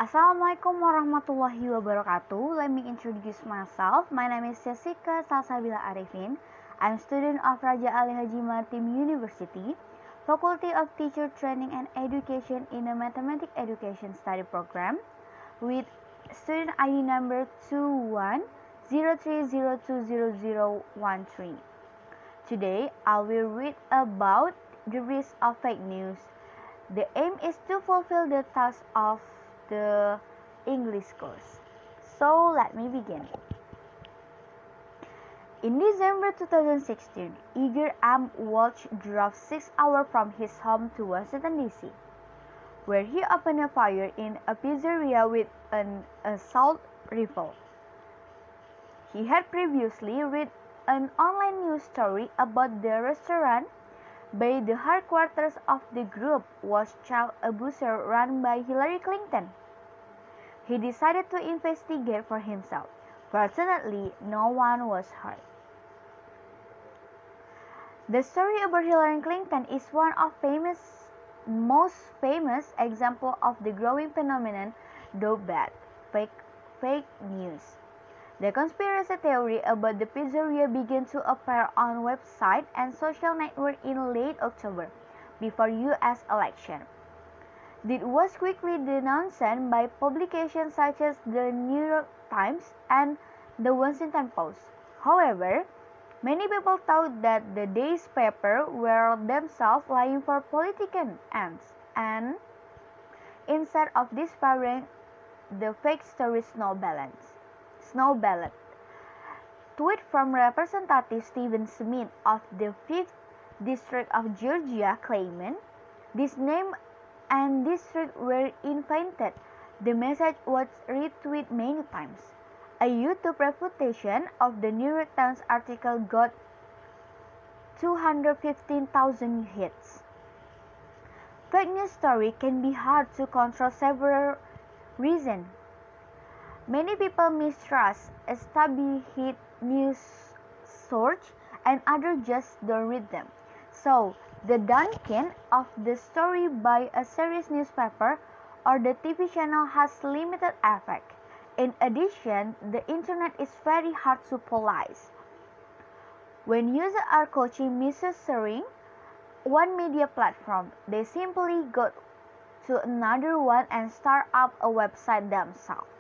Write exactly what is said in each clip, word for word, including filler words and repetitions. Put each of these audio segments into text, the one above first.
Assalamualaikum warahmatullahi wabarakatuh. Let me introduce myself. My name is Jessica Salsabila Arifin. I'm a student of Raja Ali Haji Matim University, Faculty of Teacher Training and Education in a Mathematics Education Study Program with student I D number two one zero three zero two zero zero one three. Today, I will read about the risk of fake news. The aim is to fulfill the task of the English course. So let me begin. In December two thousand sixteen, Igor M. Walsh drove six hours from his home to Washington D C, where he opened a fire in a pizzeria with an assault rifle. He had previously read an online news story about the restaurant by the headquarters of the group was child abuser run by Hillary Clinton. He decided to investigate for himself. Fortunately, no one was hurt. The story about Hillary Clinton is one of famous, most famous example of the growing phenomenon, though bad, fake, fake news. The conspiracy theory about the pizzeria began to appear on websites and social networks in late October, before U S election. It was quickly denounced by publications such as the New York Times and the Washington Post. However, many people thought that the day's paper were themselves lying for political ends, and instead of despairing, the fake story snowballed. Snowballed. Tweet from Representative Stephen Smith of the fifth District of Georgia claiming this name and district were invented. The message was retweeted many times. A YouTube refutation of the New York Times article got two hundred fifteen thousand hits. Fake news story can be hard to control for several reasons. Many people mistrust established news sources and others just don't read them. So, the dunking of the story by a serious newspaper or the T V channel has limited effect. In addition, the internet is very hard to police. When users are coaching misreading one media platform, they simply go to another one and start up a website themselves.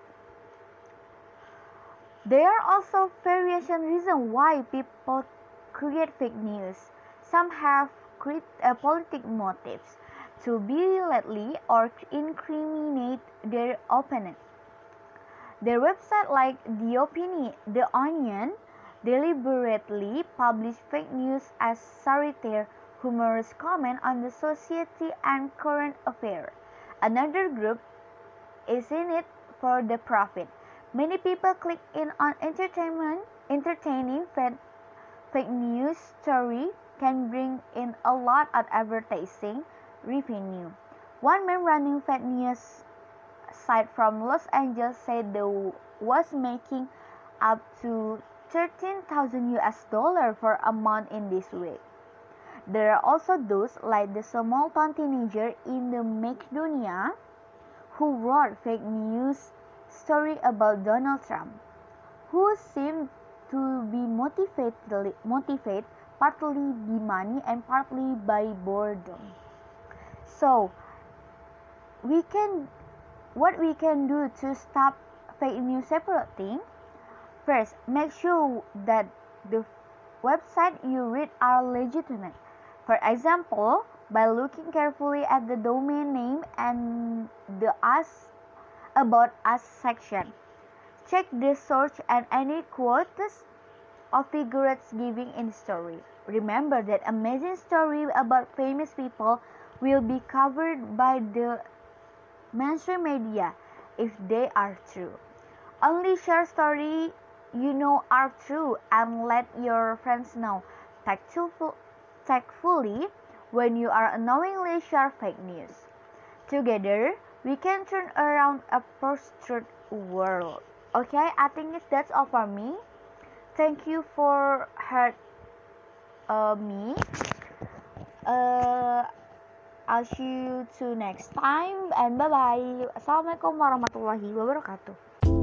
There are also various reasons why people create fake news. Some have uh, political motives to belittle or incriminate their opponent. Their website like The Opinion, The Onion deliberately publish fake news as satire, humorous comment on the society and current affairs. Another group is in it for the profit. Many people click in on entertainment, entertaining fake, fake news story can bring in a lot of advertising revenue. One man running fake news site from Los Angeles said they was making up to thirteen thousand U S dollars for a month in this way. There are also those like the Somalian teenager in the Macedonia who wrote fake news story about Donald Trump, who seemed to be motivated, motivated partly by money and partly by boredom. So, we can, what we can do to stop fake news separating? First, make sure that the website you read are legitimate. For example, by looking carefully at the domain name and the Ask About Us section. Check the source and any quotes or figures given in the story. Remember that amazing story about famous people will be covered by the mainstream media if they are true. Only share stories you know are true and let your friends know tactfully when you are unknowingly share fake news. Together, we can turn around a post-truth world. Okay, I think that's all for me. Thank you for heard uh, me. Uh, I'll see you to next time and bye bye. Assalamualaikum warahmatullahi wabarakatuh.